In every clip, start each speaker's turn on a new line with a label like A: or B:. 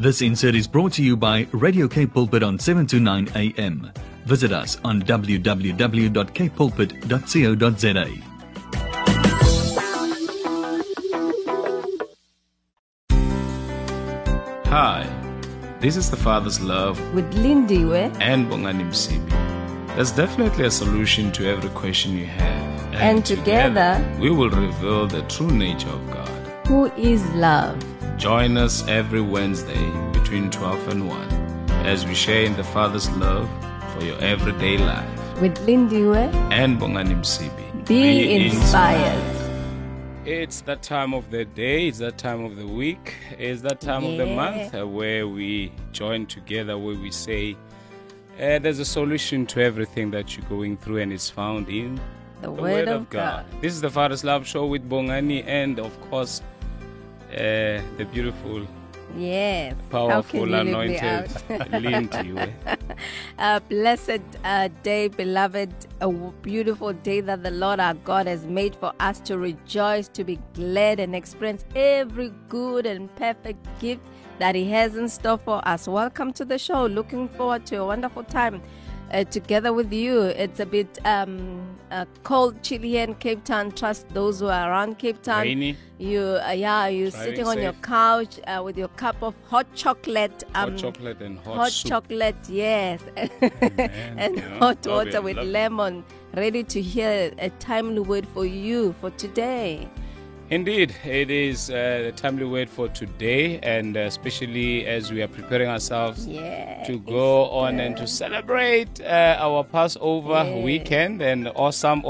A: This insert is brought to you by Radio Cape Pulpit on 7 to 9 a.m. Visit us on www.capepulpit.co.za.
B: Hi, this is The Father's Love
C: with Lindiwe
B: and Bongani Msibi. There's definitely a solution to every question you have.
C: And together
B: we will reveal the true nature of God,
C: who is love.
B: Join us every Wednesday between 12 and 1 as we share in the Father's love for your everyday life.
C: With Lindiwe
B: and Bongani Msibi.
C: Be inspired.
B: It's that time of the day, it's that time of the week, it's that time of the month where we join together, where we say there's a solution to everything that you're going through, and it's found in
C: the Word of God.
B: This is the Father's Love Show with Bongani and, of course, the beautiful, powerful, anointed Lindiwe.
C: A blessed day, beloved, a beautiful day that the Lord our God has made for us to rejoice, to be glad, and experience every good and perfect gift that He has in store for us. Welcome to the show. Looking forward to a wonderful time together with you. It's a bit cold, chilly here in Cape Town. Trust those who are around Cape Town.
B: Rainy.
C: You're sitting on
B: safe.
C: your couch with your cup of hot chocolate.
B: Hot chocolate and hot soup.
C: Chocolate, yes. And hot water with lemon. Ready to hear a timely word for you for today.
B: Indeed, it is a timely word for today, and especially as we are preparing ourselves to go on and to celebrate our Passover weekend. And awesome.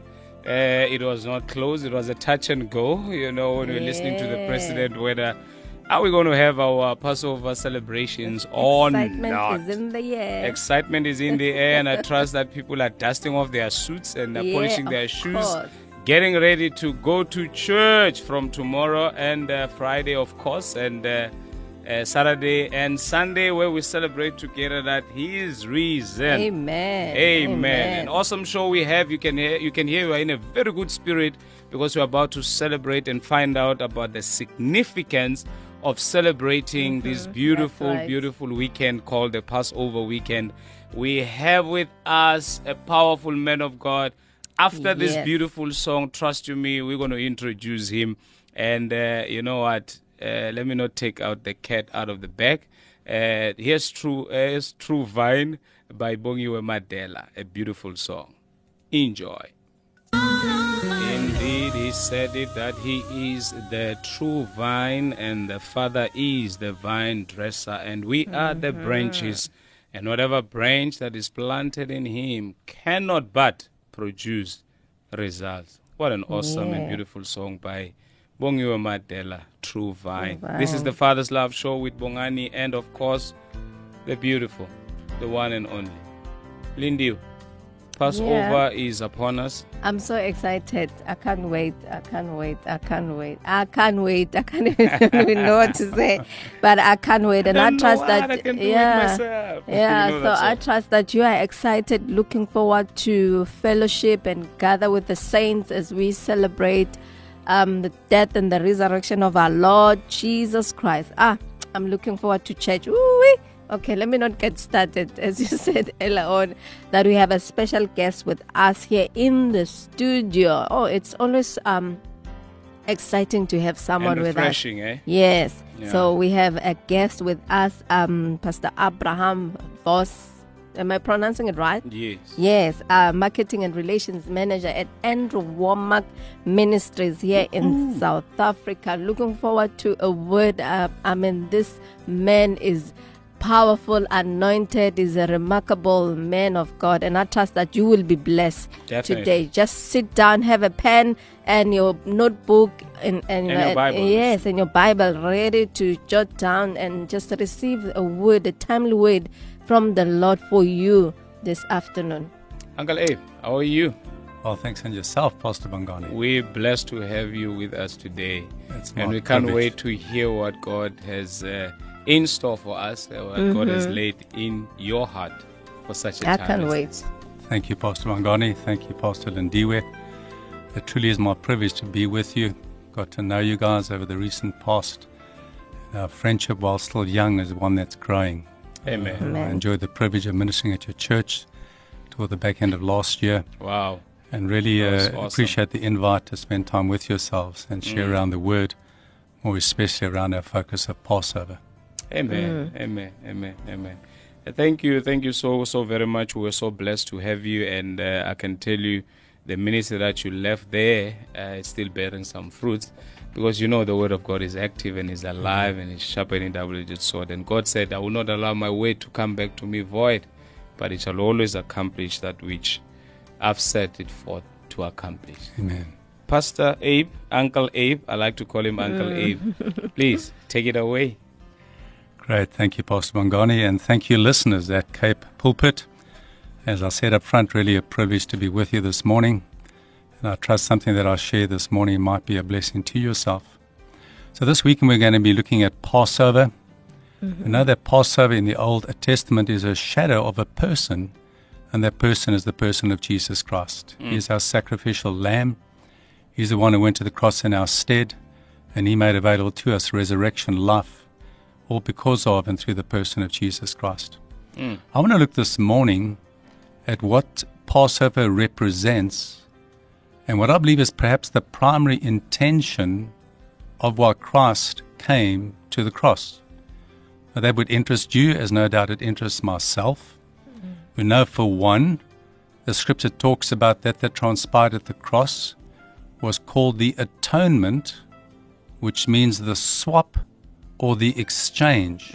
B: It was not close, it was a touch and go, when we're listening to the president, whether are we going to have our Passover celebrations or not.
C: Excitement is in the air.
B: Excitement is in the air, and I trust that people are dusting off their suits and polishing their shoes. Getting ready to go to church from tomorrow and Friday, of course, and Saturday and Sunday, where we celebrate together that He is risen.
C: Amen.
B: An awesome show we have. You can hear you are in a very good spirit because we're about to celebrate and find out about the significance of celebrating this beautiful weekend called the Passover weekend. We have with us a powerful man of God. After this beautiful song, Trust You Me, we're going to introduce him. And you know what? Let me not take out the cat out of the bag. Here's True Vine by Bongiwe Madela, a beautiful song. Enjoy. Indeed, he said it that he is the true vine and the Father is the vine dresser, and we are the branches. And whatever branch that is planted in him cannot but produce results. What an awesome and beautiful song by Bongiwe Madela, True Vine. This is the Father's Love Show with Bongani and, of course, the beautiful, the one and only Lindiwe. Passover is upon us.
C: I'm so excited. I can't wait. I can't even know what to say. But I can't wait. And I trust that I trust that you are excited, looking forward to fellowship and gather with the saints as we celebrate the death and the resurrection of our Lord Jesus Christ. I'm looking forward to church. Ooh-wee. Okay, let me not get started. As you said earlier on, that we have a special guest with us here in the studio. Oh, it's always exciting to have someone with us.
B: Refreshing, eh?
C: Yes.
B: Yeah.
C: So we have a guest with us, Pastor Abraham Vos. Am I pronouncing it right?
B: Yes.
C: Yes, Marketing and Relations Manager at Andrew Womack Ministries here in South Africa. Looking forward to a word. This man is powerful, anointed, is a remarkable man of God, and I trust that you will be blessed today. Just sit down, have a pen and your notebook and
B: your Bible.
C: Yes, and your Bible ready to jot down and just receive a word, a timely word from the Lord for you this afternoon.
B: Uncle Abe, how are you?
D: Well, thanks, and yourself, Pastor Bongani.
B: We're blessed to have you with us today, and we
D: privilege.
B: can't wait to hear what God has in store for us, what God has laid in your heart for such a time.
C: I can't wait.
D: Thank you, Pastor Bongani. Thank you, Pastor Lindiwe. It truly is my privilege to be with you. Got to know you guys over the recent past. Our friendship, while still young, is one that's growing.
B: Amen.
D: I enjoyed the privilege of ministering at your church toward the back end of last year,
B: Wow.
D: and really
B: That was awesome.
D: appreciate the invite to spend time with yourselves and share around the Word, more especially around our focus of Passover.
B: Amen. Amen. Amen. Amen. Thank you. Thank you so very much. We were so blessed to have you, and I can tell you the ministry that you left there is still bearing some fruits, because you know the word of God is active and is alive and is sharper than a double-edged sword. And God said, I will not allow my word to come back to me void, but it shall always accomplish that which I've set it forth to accomplish.
D: Amen.
B: Pastor Abe, Uncle Abe, I like to call him Uncle Abe. Please take it away.
D: Great. Thank you, Pastor Bongani, and thank you, listeners at Cape Pulpit. As I said up front, really a privilege to be with you this morning. And I trust something that I share this morning might be a blessing to yourself. So this weekend we're going to be looking at Passover. We know that Passover in the Old Testament is a shadow of a person, and that person is the person of Jesus Christ. He is our sacrificial lamb. He's the one who went to the cross in our stead, and he made available to us resurrection life, all because of and through the person of Jesus Christ. I want to look this morning at what Passover represents and what I believe is perhaps the primary intention of why Christ came to the cross. Now, that would interest you, as no doubt it interests myself. We know, for one, the scripture talks about that transpired at the cross was called the atonement, which means the swap or the exchange.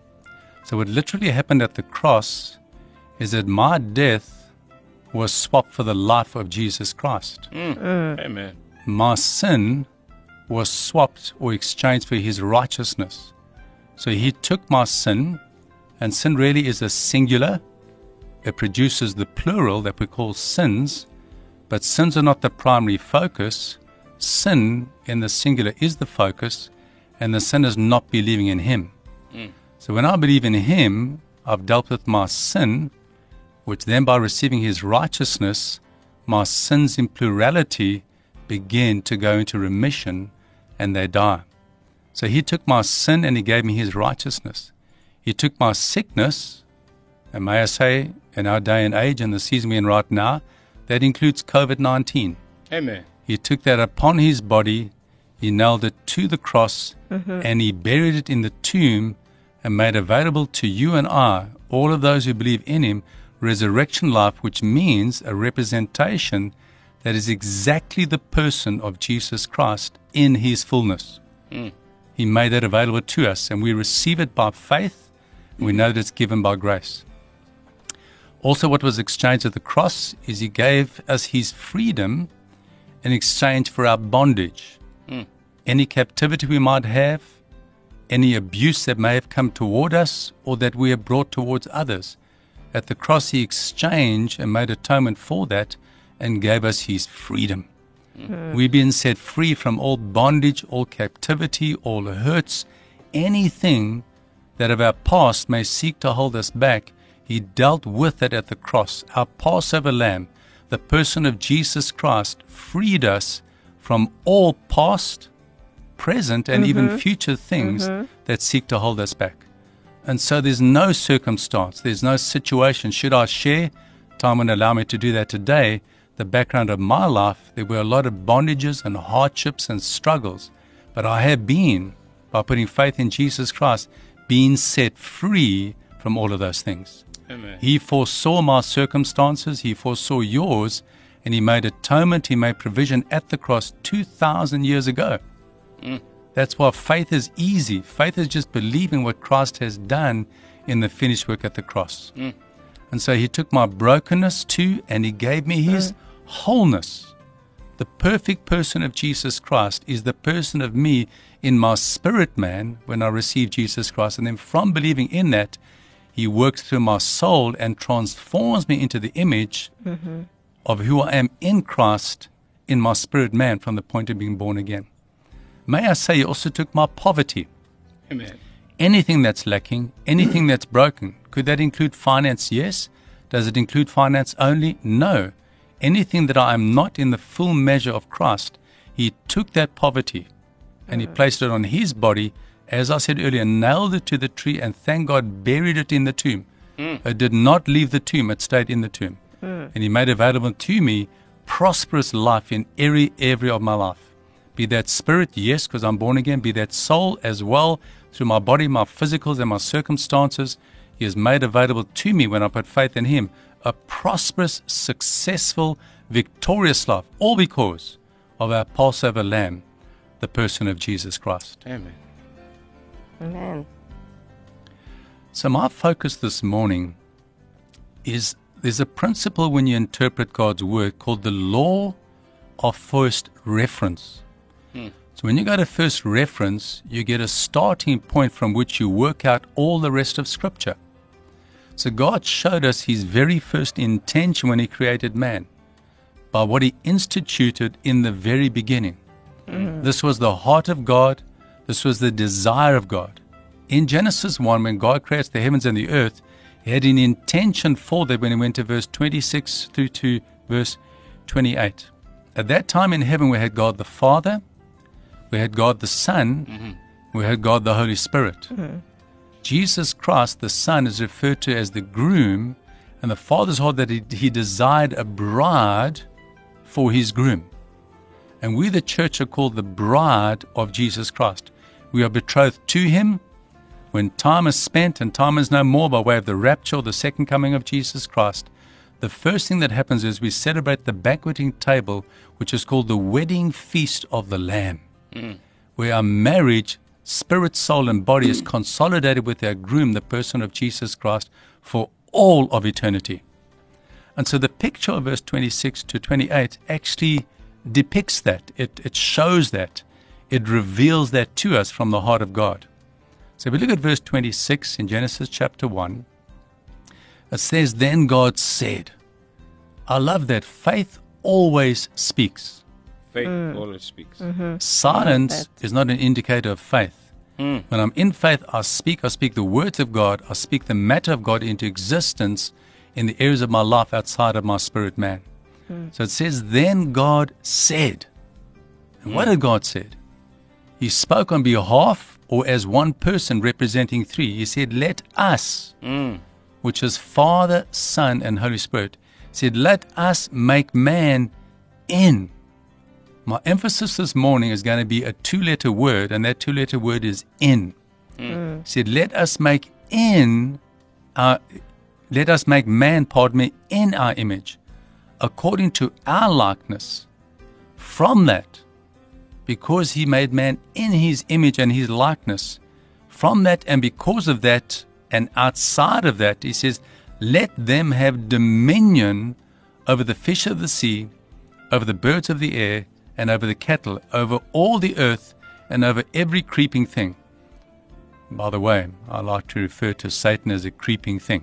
D: So what literally happened at the cross is that my death was swapped for the life of Jesus Christ.
B: Amen.
D: My sin was swapped or exchanged for his righteousness. So he took my sin, and sin really is a singular. It produces the plural that we call sins, but sins are not the primary focus. Sin in the singular is the focus, and the sin is not believing in him. So when I believe in him, I've dealt with my sin, which then by receiving his righteousness, my sins in plurality begin to go into remission and they die. So he took my sin and he gave me his righteousness. He took my sickness, and may I say, in our day and age and the season we're in right now, that includes COVID-19.
B: Amen.
D: He took that upon his body, he nailed it to the cross, and he buried it in the tomb and made available to you and I, all of those who believe in him, resurrection life, which means a representation that is exactly the person of Jesus Christ in his fullness. He made that available to us, and we receive it by faith, and we know that it's given by grace. Also, what was exchanged at the cross is he gave us his freedom in exchange for our bondage. Any captivity we might have, any abuse that may have come toward us or that we have brought towards others. At the cross, he exchanged and made atonement for that and gave us his freedom. We've been set free from all bondage, all captivity, all hurts, anything that of our past may seek to hold us back. He dealt with it at the cross. Our Passover lamb, the person of Jesus Christ, freed us from all past, present, and even future things that seek to hold us back. And so there's no circumstance, there's no situation. Should I share, time won't allow me to do that today, the background of my life, there were a lot of bondages and hardships and struggles. But I have been, by putting faith in Jesus Christ, been set free from all of those things.
B: Amen.
D: He foresaw my circumstances, he foresaw yours, and he made atonement, he made provision at the cross 2,000 years ago. That's why faith is easy. Faith is just believing what Christ has done in the finished work at the cross. And so he took my brokenness too, and he gave me his wholeness. The perfect person of Jesus Christ is the person of me in my spirit man when I receive Jesus Christ. And then from believing in that, he works through my soul and transforms me into the image of who I am in Christ in my spirit man from the point of being born again. May I say, he also took my poverty.
B: Amen.
D: Anything that's lacking, anything that's broken. Could that include finance? Yes. Does it include finance only? No. Anything that I am not in the full measure of Christ, he took that poverty and he placed it on his body as I said earlier, nailed it to the tree and thank God buried it in the tomb. It did not leave the tomb, it stayed in the tomb. And he made available to me prosperous life in every area of my life. Be that spirit, yes, because I'm born again. Be that soul as well, through my body, my physicals, and my circumstances. He has made available to me when I put faith in him a prosperous, successful, victorious life, all because of our Passover Lamb, the person of Jesus Christ.
B: Amen.
C: Amen.
D: So my focus this morning is there's a principle when you interpret God's word called the law of first reference. So when you go to first reference, you get a starting point from which you work out all the rest of Scripture. So God showed us his very first intention when he created man by what he instituted in the very beginning. This was the heart of God. This was the desire of God. In Genesis 1, when God creates the heavens and the earth, he had an intention for that when he went to verse 26 through to verse 28. At that time in heaven, we had God the Father, we had God the Son, we had God the Holy Spirit. Jesus Christ, the Son, is referred to as the groom, and the Father's heart that he desired a bride for his groom. And we, the church, are called the bride of Jesus Christ. We are betrothed to him. When time is spent and time is no more by way of the rapture or the second coming of Jesus Christ, the first thing that happens is we celebrate the banqueting table, which is called the wedding feast of the Lamb, where our marriage, spirit, soul, and body is consolidated with our groom, the person of Jesus Christ, for all of eternity. And so the picture of verse 26 to 28 actually depicts that. It shows that. It reveals that to us from the heart of God. So if we look at verse 26 in Genesis chapter 1, it says, Then God said. I love that. Faith always speaks.
B: Faith always speaks.
D: Silence is not an indicator of faith. When I'm in faith, I speak the words of God. I speak the matter of God into existence in the areas of my life outside of my spirit man. So it says, Then God said. And what did God said? He spoke on behalf or as one person representing three. He said, Let us, which is Father, Son, and Holy Spirit, said, Let us make man in. My emphasis this morning is going to be a two-letter word, and that two-letter word is in. He said, Let us make man, in our image, according to our likeness. From that, because he made man in his image and his likeness, from that and because of that and outside of that, he says, let them have dominion over the fish of the sea, over the birds of the air, and over the cattle, over all the earth, and over every creeping thing. By the way, I like to refer to Satan as a creeping thing.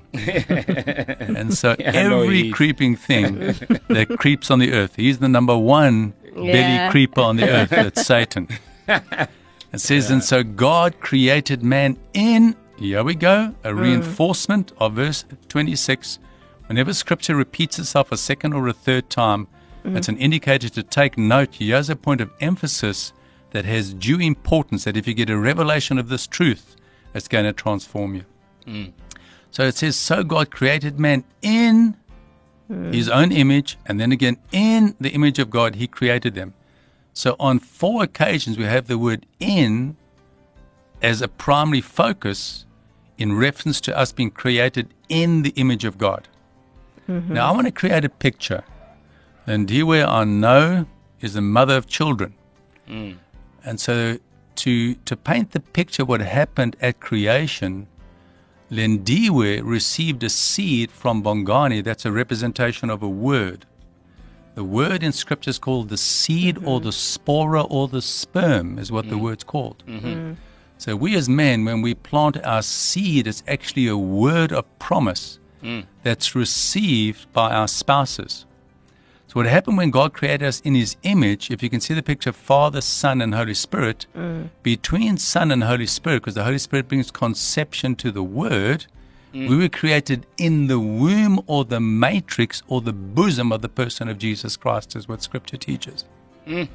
D: And so every creeping thing that creeps on the earth, he's the number one belly creeper on the earth. That's Satan. It says, and so God created man in, here we go, a reinforcement of verse 26. Whenever Scripture repeats itself a second or a third time, it's an indicator to take note. Here's a point of emphasis that has due importance, that if you get a revelation of this truth, it's going to transform you. So it says, so God created man in his own image, and then again, in the image of God, he created them. So on 4 occasions, we have the word in as a primary focus in reference to us being created in the image of God. Now, I want to create a picture. Lindiwe, I know, is the mother of children. And so to paint the picture of what happened at creation, Lindiwe received a seed from Bongani. That's a representation of a word. The word in Scripture is called the seed or the spora or the sperm is what the word's called. So we as men, when we plant our seed, it's actually a word of promise that's received by our spouses. So what happened when God created us in his image, if you can see the picture of Father, Son, and Holy Spirit, between Son and Holy Spirit, because the Holy Spirit brings conception to the Word, we were created in the womb or the matrix or the bosom of the person of Jesus Christ, is what Scripture teaches.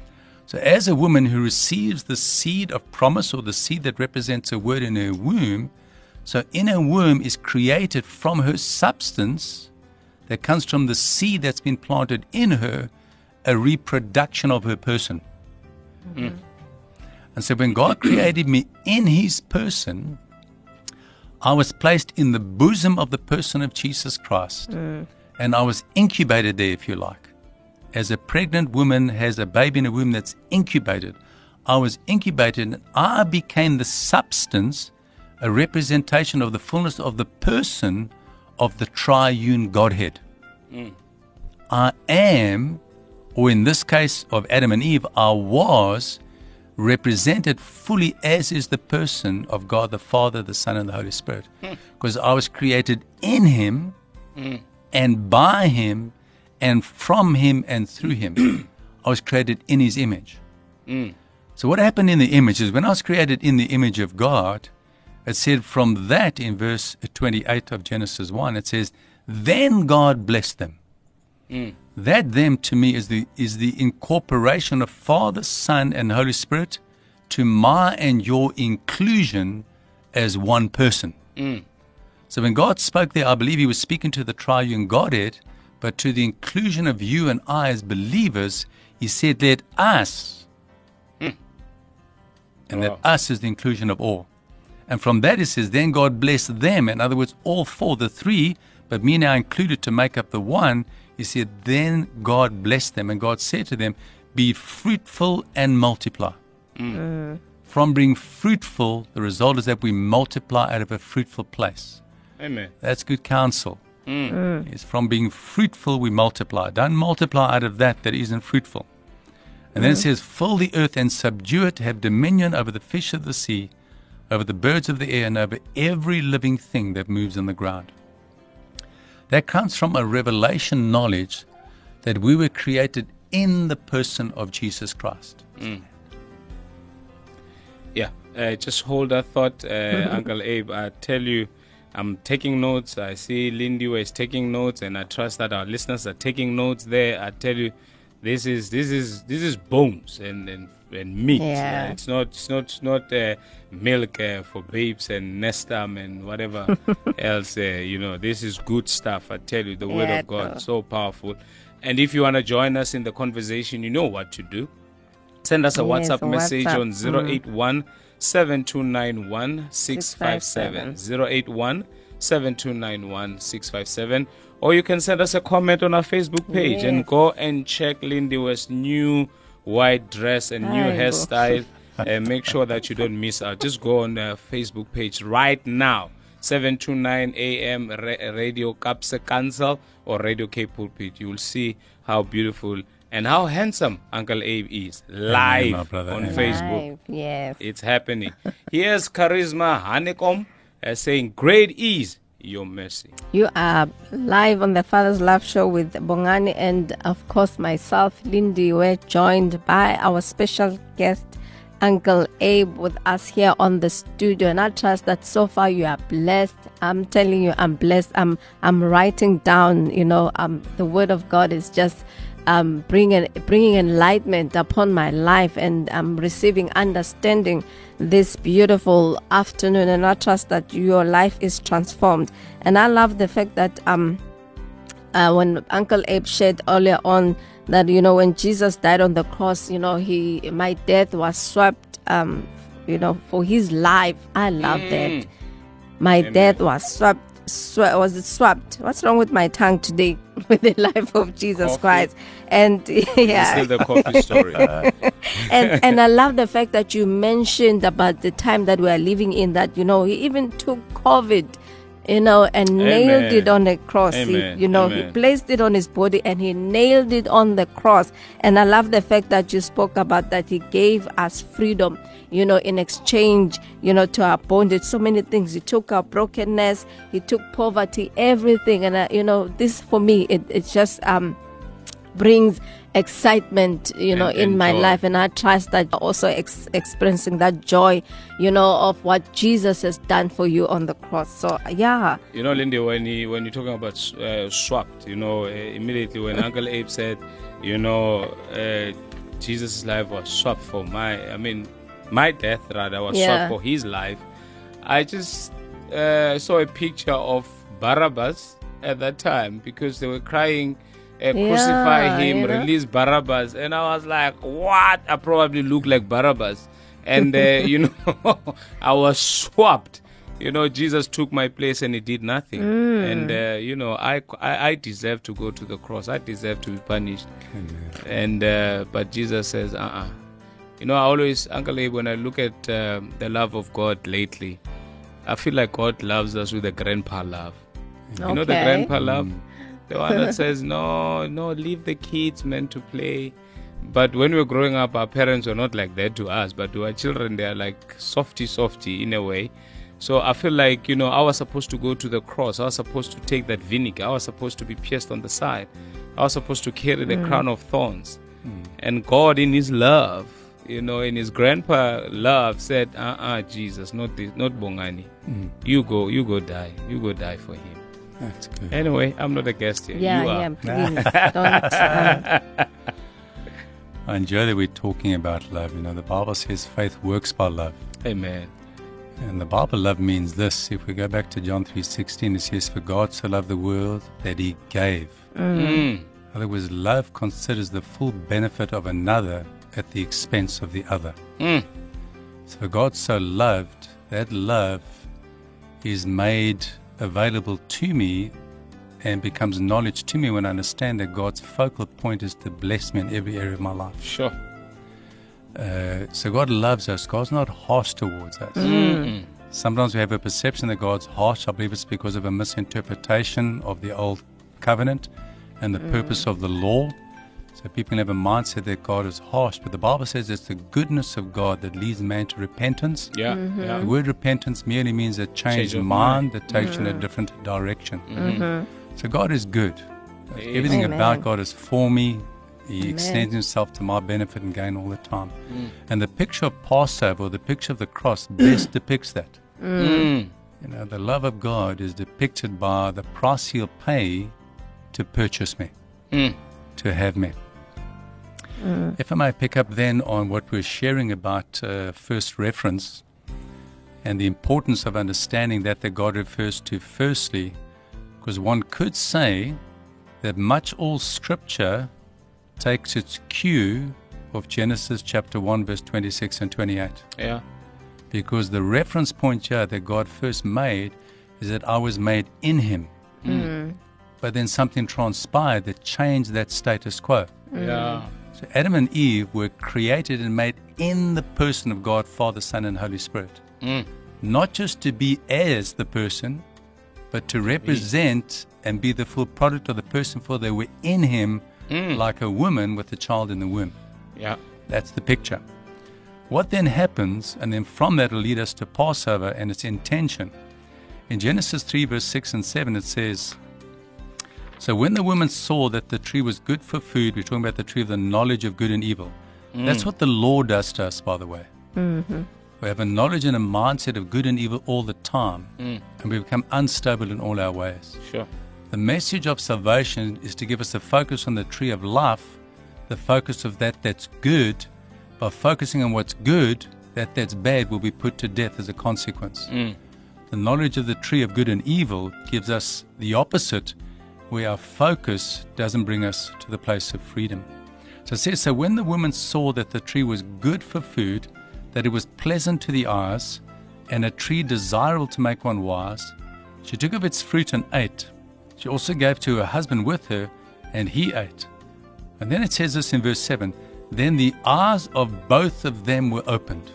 D: So as a woman who receives the seed of promise, or the seed that represents a word in her womb, so in her womb is created from her substance that comes from the seed that's been planted in her, a reproduction of her person.
B: Mm.
D: And so when God created me in his person, I was placed in the bosom of the person of Jesus Christ. And I was incubated there, if you like. As a pregnant woman has a baby in a womb that's incubated, I was incubated and I became the substance, a representation of the fullness of the person of the triune Godhead. I am, or in this case of Adam and Eve, I was represented fully as is the person of God the Father, the Son, and the Holy Spirit. Because I was created in him and by him and from him and through him. I was created in his image. So what happened in the image is when I was created in the image of God, it said from that in verse 28 of Genesis 1, it says, then God blessed them. That them to me is the incorporation of Father, Son, and Holy Spirit to my and your inclusion as one person. So when God spoke there, I believe he was speaking to the triune Godhead, but to the inclusion of you and I as believers, he said, let us. And that us is the inclusion of all. And from that it says, then God blessed them. In other words, all four, the three, but me now included to make up the one. He said, then God blessed them. And God said to them, be fruitful and multiply. From being fruitful, the result is that we multiply out of a fruitful place.
B: Amen.
D: That's good counsel. It's from being fruitful, we multiply. Don't multiply out of that isn't fruitful. And then it says, fill the earth and subdue it, have dominion over the fish of the sea, over the birds of the air, and over every living thing that moves on the ground. That comes from a revelation knowledge that we were created in the person of Jesus Christ.
B: Yeah, just hold that thought, Uncle Abe. I tell you, I'm taking notes. I see Lindy is taking notes, and I trust that our listeners are taking notes there. I tell you, this is bones and meat.
C: Yeah.
B: It's not milk for babes and Nestum and whatever else. This is good stuff. I tell you, the word of God is so powerful. And if you want to join us in the conversation, you know what to do. Send us a WhatsApp message on 081 7291 657. 081 7291 657. Or you can send us a comment on our Facebook page and go and check Lindy West's new white dress and new hairstyle. And make sure that you don't miss out. Just go on the Facebook page right now. 729 AM Radio Kapse Council or Radio K Pulpit. You will see how beautiful and how handsome Uncle Abe is live on Facebook.
C: Yes.
B: It's happening. Here's Charisma Honeycomb saying, great is your mercy.
C: You are live on the Father's Love Show with Bongani and, of course, myself, Lindy. We're joined by our special guest, Uncle Abe, with us here on the studio. And I trust that so far you are blessed. I'm telling you, I'm blessed. I'm writing down, the word of God is just bringing enlightenment upon my life, and I'm receiving understanding this beautiful afternoon, and I trust that your life is transformed. And I love the fact that when Uncle Abe shared earlier on that when Jesus died on the cross, my death was swept for his life. I love that. My death was swept. Was it swept? What's wrong with my tongue today? With the life of Jesus Christ. And yeah,
B: still the coffee story.
C: and I love the fact that you mentioned about the time that we are living in, that he even took COVID, and nailed it on the cross.
B: Amen.
C: He placed it on his body and he nailed it on the cross. And I love the fact that you spoke about that he gave us freedom, in exchange, to our bondage. So many things. He took our brokenness, he took poverty, everything. And, this for me, it just brings excitement, in my life. And I trust that also experiencing that joy, of what Jesus has done for you on the cross. So, yeah.
B: Lindy, when you're talking about swapped, immediately when Uncle Abe said, Jesus' life was swapped for my death rather was
C: Yeah.
B: swapped for his life. I just saw a picture of Barabbas at that time because they were crying, crucify him,
C: you know?
B: release Barabbas. And I was like, what? I probably look like Barabbas. And, I was swapped. Jesus took my place and he did nothing. And, I deserve to go to the cross. I deserve to be punished. And but Jesus says, I always, Uncle Abe, when I look at the love of God lately, I feel like God loves us with a grandpa love. You know the
C: Okay.
B: grandpa love? The one that says, no, leave the kids, man, to play. But when we were growing up, our parents were not like that to us. But to our children, they are like softy in a way. So I feel like, I was supposed to go to the cross. I was supposed to take that vinegar. I was supposed to be pierced on the side. I was supposed to carry the crown of thorns. And God, in his love, in his grandpa love, said, Jesus, not this, not Bongani. You go die. You go die for him.
D: That's good.
B: Anyway, I'm not a guest here.
C: Yeah,
B: You are.
C: please don't.
D: I enjoy that we're talking about love. The Bible says faith works by love.
B: Amen.
D: And the Bible love means this. If we go back to John 3:16, it says, for God so loved the world that he gave. In other words, love considers the full benefit of another at the expense of the other. So God so loved, that love is made available to me and becomes knowledge to me when I understand that God's focal point is to bless me in every area of my life.
B: Sure.
D: So God loves us. God's not harsh towards us. Sometimes we have a perception that God's harsh. I believe it's because of a misinterpretation of the old covenant and the purpose of the law. So people have a mindset that God is harsh, but the Bible says it's the goodness of God that leads man to repentance.
B: Yeah.
D: The word repentance merely means a change of mind that takes you in a different direction. So God is good. Everything
C: Amen.
D: about God is for me. He extends himself to my benefit and gain all the time. And the picture of Passover, or the picture of the cross, best depicts that. The love of God is depicted by the price he'll pay to purchase me, to have me. If I may pick up then on what we're sharing about first reference and the importance of understanding that God refers to firstly, because one could say that much all Scripture takes its cue of Genesis chapter 1, verse 26 and 28.
B: Yeah.
D: Because the reference point here that God first made is that I was made in him. But then something transpired that changed that status quo.
B: Yeah.
D: So Adam and Eve were created and made in the person of God, Father, Son, and Holy Spirit. Not just to be as the person, but to represent and be the full product of the person, for they were in him like a woman with a child in the womb.
B: Yeah.
D: That's the picture. What then happens, and then from that will lead us to Passover and its intention. In Genesis 3, verse 6 and 7, it says, so when the woman saw that the tree was good for food, we're talking about the tree of the knowledge of good and evil. That's what the law does to us, by the way. We have a knowledge and a mindset of good and evil all the time, and we become unstable in all our ways.
B: Sure.
D: The message of salvation is to give us a focus on the tree of life, the focus of that's good. By focusing on what's good, that's bad will be put to death as a consequence. The knowledge of the tree of good and evil gives us the opposite, where our focus doesn't bring us to the place of freedom. So it says, so when the woman saw that the tree was good for food, that it was pleasant to the eyes, and a tree desirable to make one wise, she took of its fruit and ate. She also gave to her husband with her, and he ate. And then it says this in verse 7, then the eyes of both of them were opened.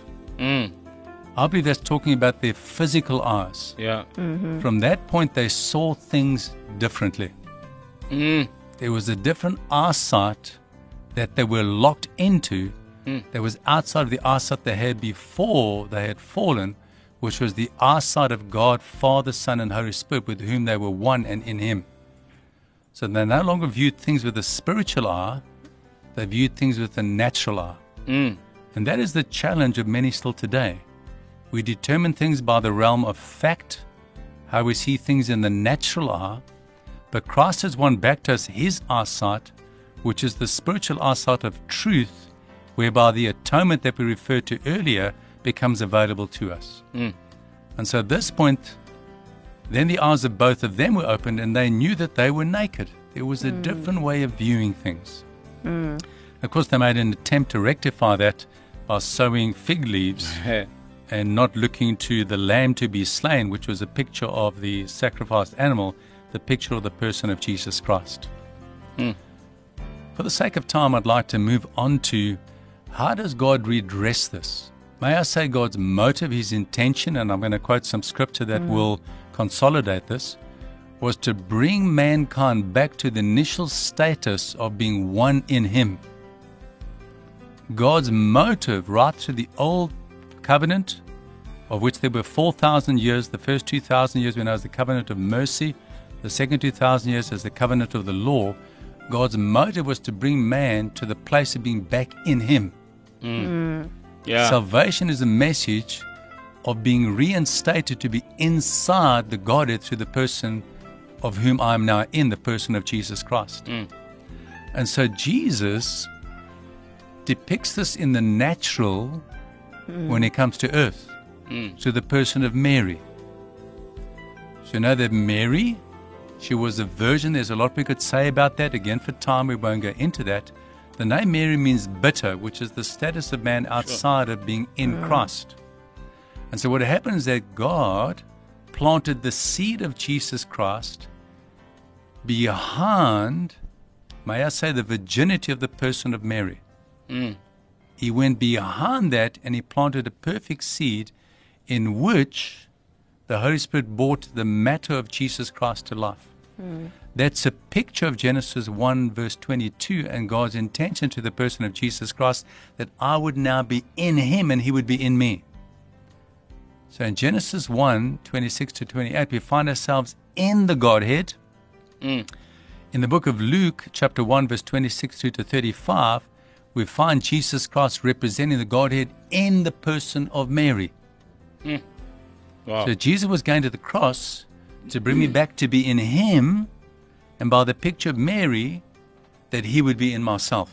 D: I believe that's talking about their physical eyes.
B: Yeah.
D: From that point, they saw things differently. There was a different eyesight that they were locked into that was outside of the eyesight they had before they had fallen, which was the eyesight of God, Father, Son, and Holy Spirit, with whom they were one and in him. So they no longer viewed things with a spiritual eye, they viewed things with a natural eye. And that is the challenge of many still today. We determine things by the realm of fact, how we see things in the natural eye, but Christ has won back to us his eyesight, which is the spiritual eyesight of truth, whereby the atonement that we referred to earlier becomes available to us. And so at this point, then the eyes of both of them were opened and they knew that they were naked. There was a different way of viewing things. Of course, they made an attempt to rectify that by sewing fig leaves and not looking to the lamb to be slain, which was a picture of the sacrificed animal, the picture of the person of Jesus Christ. For the sake of time, I'd like to move on to how does God redress this? May I say God's motive, his intention, and I'm going to quote some scripture that will consolidate this, was to bring mankind back to the initial status of being one in him. God's motive right through the old covenant, of which there were 4,000 years, the first 2,000 years when it was the covenant of mercy, the second 2,000 years as the covenant of the law, God's motive was to bring man to the place of being back in him.
B: Yeah.
D: Salvation is a message of being reinstated to be inside the Godhead through the person of whom I am now in, the person of Jesus Christ. And so Jesus depicts this in the natural when it comes to earth, to the person of Mary. So you know that Mary, she was a virgin. There's a lot we could say about that. Again, for time, we won't go into that. The name Mary means bitter, which is the status of man outside of being in Christ. And so what happened is that God planted the seed of Jesus Christ behind, may I say, the virginity of the person of Mary. He went behind that and he planted a perfect seed in which the Holy Spirit brought the matter of Jesus Christ to life. That's a picture of Genesis 1 verse 22 and God's intention to the person of Jesus Christ, that I would now be in him and he would be in me. So in Genesis 1, 26 to 28, we find ourselves in the Godhead. In the book of Luke, chapter 1, verse 26 to 35, we find Jesus Christ representing the Godhead in the person of Mary.
B: Wow.
D: So Jesus was going to the cross to bring me back to be in him, and by the picture of Mary, that he would be in myself.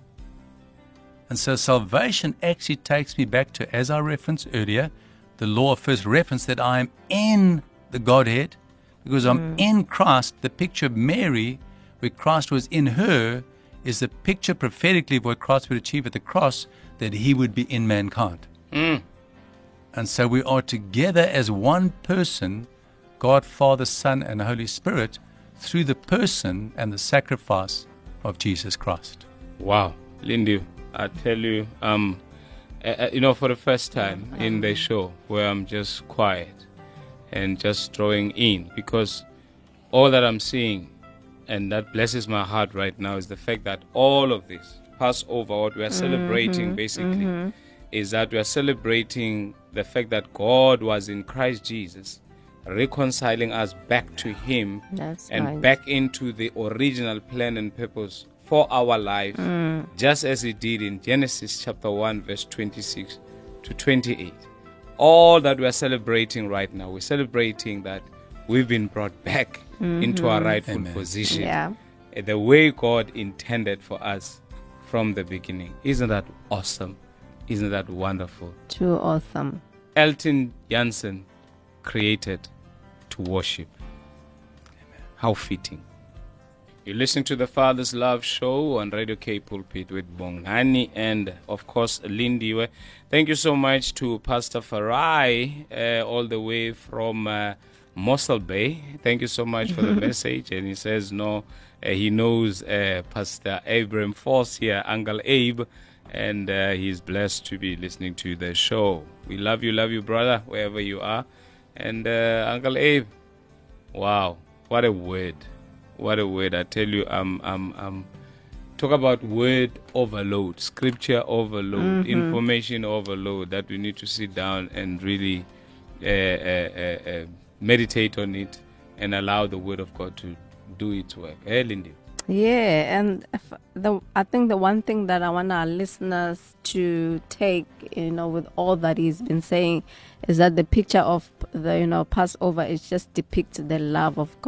D: And so salvation actually takes me back to, as I referenced earlier, the law of first reference, that I am in the Godhead because I'm in Christ. The picture of Mary, where Christ was in her, is the picture prophetically of what Christ would achieve at the cross, that he would be in mankind. And so we are together as one person, God, Father, Son, and Holy Spirit, through the person and the sacrifice of Jesus Christ.
B: Wow, Lindy, I tell you, for the first time in the show where I'm just quiet and just drawing in, because all that I'm seeing and that blesses my heart right now is the fact that all of this Passover, what we are celebrating basically, is that we are celebrating the fact that God was in Christ Jesus, reconciling us back to him.
C: That's
B: and
C: right.
B: back into the original plan and purpose for our life, just as he did in Genesis chapter 1 verse 26 to 28. All that we are celebrating right now, we're celebrating that we've been brought back into our rightful position,
C: Yeah.
B: the way God intended for us from the beginning. Isn't that awesome? Isn't that wonderful?
C: Too awesome.
B: Elton Jansen created to worship. How fitting. You're listening to the Father's Love Show on Radio K Pulpit with Bongani and, of course, Lindiwe. Thank you so much to Pastor Farai, all the way from Mossel Bay. Thank you so much for the message. And he says, he knows Pastor Abraham Foss here, Uncle Abe, and he's blessed to be listening to the show. We love you, brother, wherever you are. And Uncle Abe, wow, what a word. What a word. I tell you, talk about word overload, scripture overload, information overload, that we need to sit down and really meditate on it and allow the word of God to do its work. Hey, Lindy.
C: Yeah, and I think the one thing that I want our listeners to take, with all that he's been saying, is that the picture of the, Passover is just depicts the love of God.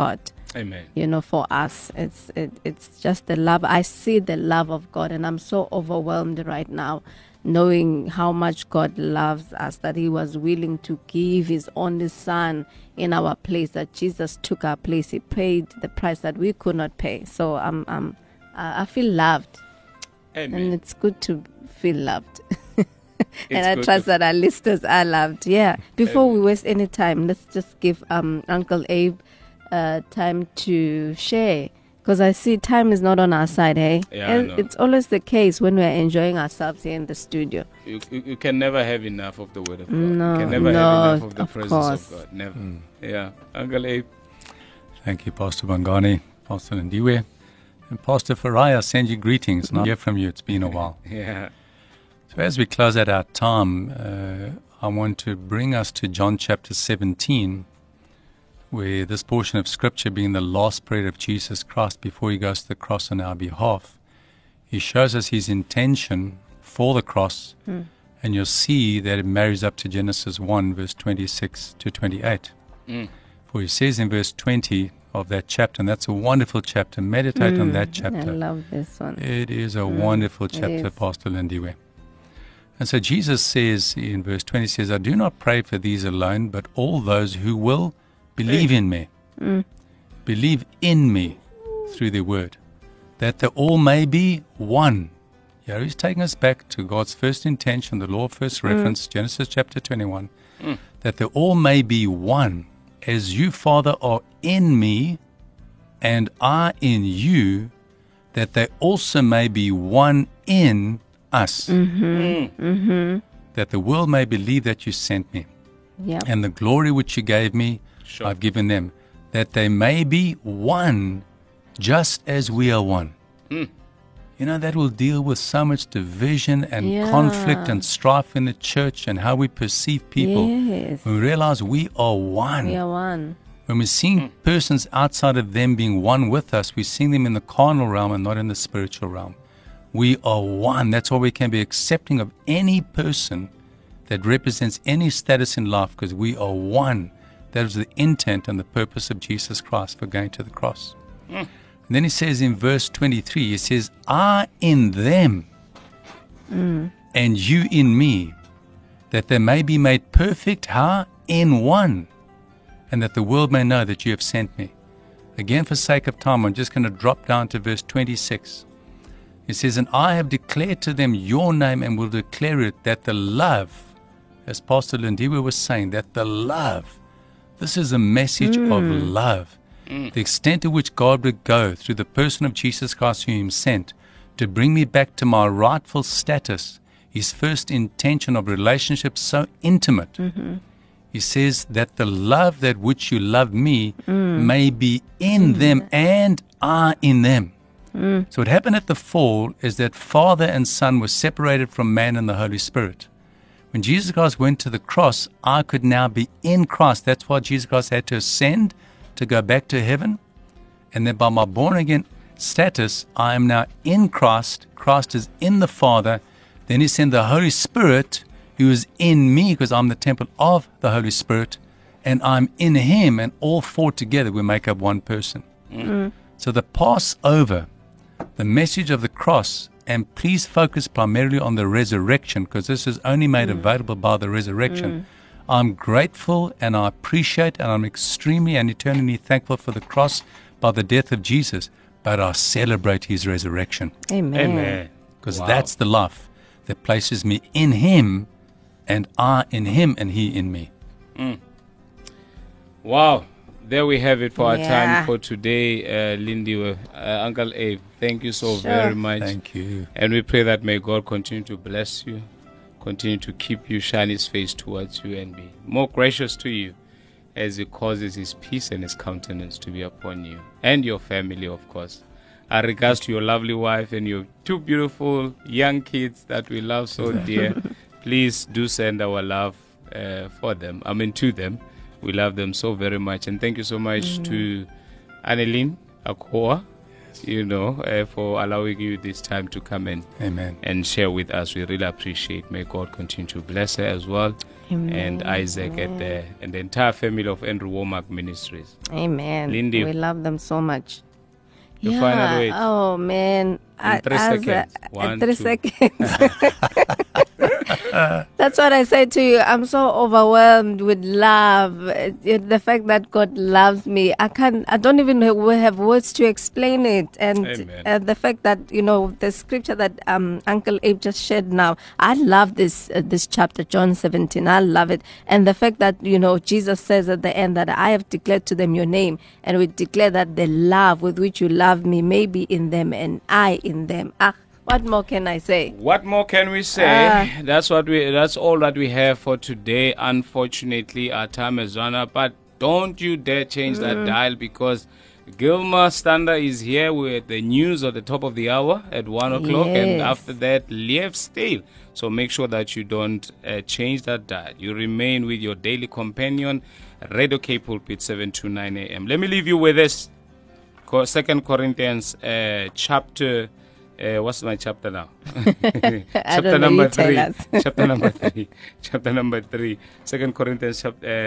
B: Amen.
C: For us. It's just the love. I see the love of God, and I'm so overwhelmed right now, knowing how much God loves us, that He was willing to give His only Son in our place, that Jesus took our place. He paid the price that we could not pay. So I feel loved.
B: Amen.
C: And it's good to feel loved.
B: It's
C: And I
B: good
C: trust
B: to-
C: that our listeners are loved. Yeah. Before we waste any time, let's just give Uncle Abe time to share, because I see time is not on our side, hey?
B: Yeah, I
C: And
B: know.
C: it's always the case when we're enjoying ourselves here in the studio.
B: You can never have enough of the word of God.
C: No,
B: you can never
C: no,
B: have enough of the
C: of
B: presence
C: course.
B: of God. Never. Yeah. Uncle Abe.
D: Thank you, Pastor Bangani, Pastor Ndiwe. And Pastor Faraya, send you greetings. And I hear from you. It's been a while.
B: Yeah.
D: So as we close out our time, I want to bring us to John chapter 17, where this portion of Scripture, being the last prayer of Jesus Christ before He goes to the cross on our behalf, He shows us His intention for the cross, and you'll see that it marries up to Genesis 1, verse 26 to 28. For He says in verse 20 of that chapter, and that's a wonderful chapter, meditate on that
C: I
D: chapter.
C: love this one.
D: It is a wonderful chapter,
C: is.
D: Pastor Lindiwe. And so Jesus says in verse 20, says, I do not pray for these alone, but all those who will believe in me. Believe in me through their word, that they all may be one. Yeah, He's taking us back to God's first intention, the law of first reference, Genesis chapter 21, that they all may be one, as you, Father, are in me, and I in you, that they also may be one in us, that the world may believe that you sent me,
C: Yeah.
D: and the glory which you gave me,
B: Sure.
D: I've given them, that they may be one, just as we are one. That will deal with so much division and
C: Yeah.
D: conflict and strife in the church and how we perceive people.
C: Yes.
D: When we realize we are one.
C: We are one.
D: When we're seeing persons outside of them being one with us, we're seeing them in the carnal realm and not in the spiritual realm. We are one. That's why we can be accepting of any person that represents any status in life, because we are one. That is the intent and the purpose of Jesus Christ for going to the cross. And then He says in verse 23, He says, I in them and you in me, that they may be made perfect, how? In one, and that the world may know that you have sent me. Again, for sake of time, I'm just going to drop down to verse 26. It says, and I have declared to them your name and will declare it, that the love, as Pastor Lindiwe was saying, that the love, this is a message of love. The extent to which God would go through the person of Jesus Christ, whom He sent, to bring me back to my rightful status, His first intention of relationship so intimate. He says that the love that which you love me may be in them and I in them. So what happened at the fall is that Father and Son were separated from man and the Holy Spirit. When Jesus Christ went to the cross, I could now be in Christ. That's why Jesus Christ had to ascend to go back to heaven. And then by my born-again status, I am now in Christ. Christ is in the Father. Then He sent the Holy Spirit, who is in me, because I'm the temple of the Holy Spirit, and I'm in Him, and all four together we make up one person. So the Passover, the message of the cross, and please focus primarily on the resurrection, because this is only made available by the resurrection. I'm grateful and I appreciate and I'm extremely and eternally thankful for the cross by the death of Jesus, but I celebrate His resurrection,
C: Amen.
B: Amen.
D: because
B: Wow.
D: that's the life that places me in Him and I in Him and He in me.
B: Wow. There we have it for our
C: Yeah.
B: time for today, Lindy. Uncle Abe, thank you so
C: Sure.
B: very much.
D: Thank you.
B: And we pray that may God continue to bless you, continue to keep you, shine His face towards you, and be more gracious to you as He causes His peace and His countenance to be upon you and your family, of course. Our regards to your lovely wife and your two beautiful young kids that we love so dear. Please do send our love to them. We love them so very much. And thank you so much to Annelien Akoa for allowing you this time to come in
D: Amen.
B: and share with us. We really appreciate. May God continue to bless her as well.
C: Amen.
B: And Isaac and the entire family of Andrew Womack Ministries.
C: Amen.
B: Lindy.
C: We love them so much.
B: The final weight.
C: Oh, man.
B: In 3 seconds.
C: 3
B: 2.
C: seconds. That's what I say to you. I'm so overwhelmed with love. The fact that God loves me. I don't even have words to explain it. And the fact that, the scripture that Uncle Abe just shared now, I love this chapter, John 17. I love it. And the fact that, Jesus says at the end that I have declared to them your name. And we declare that the love with which you love me may be in them and I in them. What more can I say?
B: What more can we say? That's all that we have for today. Unfortunately, our time has run out. But don't you dare change that dial, because Gilma Stander is here with the news at the top of the hour at 1 o'clock. And after that, Liev Stale. So make sure that you don't change that dial. You remain with your daily companion, Radio K Pulpit, 7 to 9 a.m. Let me leave you with this. 2 Corinthians chapter... what's my chapter now? Chapter number 3. Chapter number 3. Chapter number 3. 2 Corinthians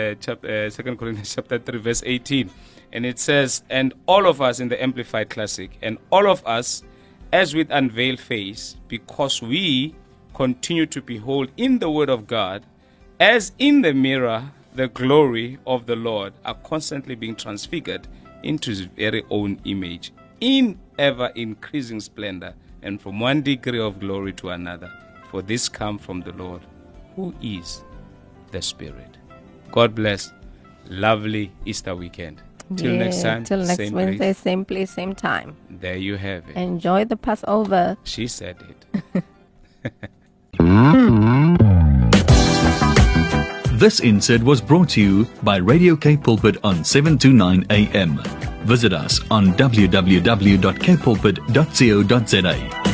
B: chapter 3, verse 18. And it says, and all of us in the Amplified Classic, and all of us as with unveiled face, because we continue to behold in the Word of God, as in the mirror, the glory of the Lord, are constantly being transfigured into His very own image, in ever increasing splendor, and from one degree of glory to another. For this comes from the Lord, who is the Spirit. God bless. Lovely Easter weekend. Till next time.
C: Till next
B: same
C: Wednesday,
B: place.
C: same place, same time.
B: There you have it.
C: Enjoy the Passover.
B: She said it.
A: This insert was brought to you by Radio K Pulpit on 7 to 9 a.m. Visit us on www.kpulpit.co.za.